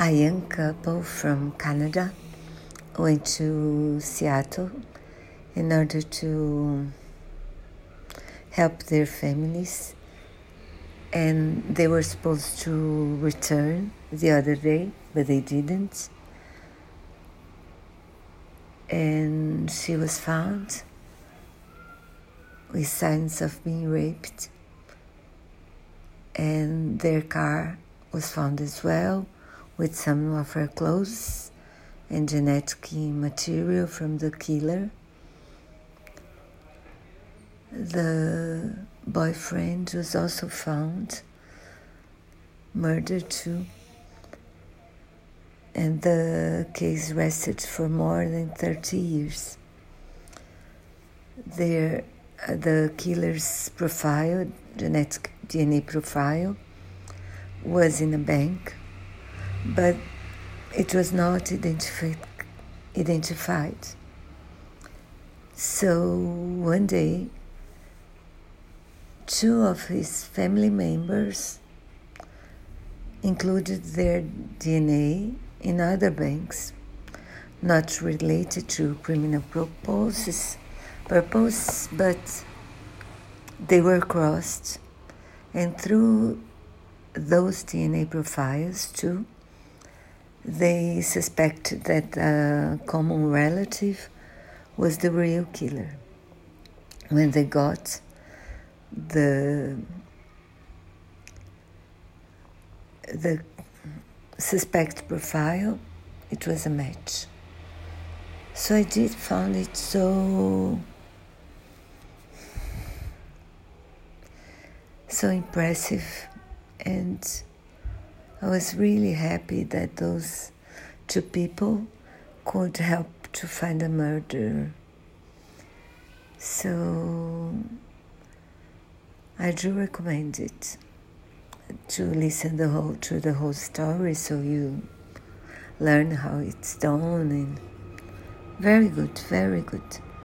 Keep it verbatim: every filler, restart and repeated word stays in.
A young couple from Canada went to Seattle in order to help their families, and they were supposed to return the other day, but they didn't. And she was found with signs of being raped, and their car was found as well, with some of her clothes and genetic material from the killer. The boyfriend was also found murdered too, and the case rested for more than thirty years. Their, uh, the killer's profile, genetic D N A profile, was in a bank, but it was not identified. identified. So one day, two of his family members included their D N A in other banks, not related to criminal purposes, purpose, but they were crossed, and through those D N A profiles too, they suspected that a common relative was the real killer. When they got the the suspect profile, it was a match. So I did found it so so impressive, and I was really happy that those two people could help to find a murderer. So I do recommend it, to listen the whole to the whole story, so you learn how it's done, and very good, very good.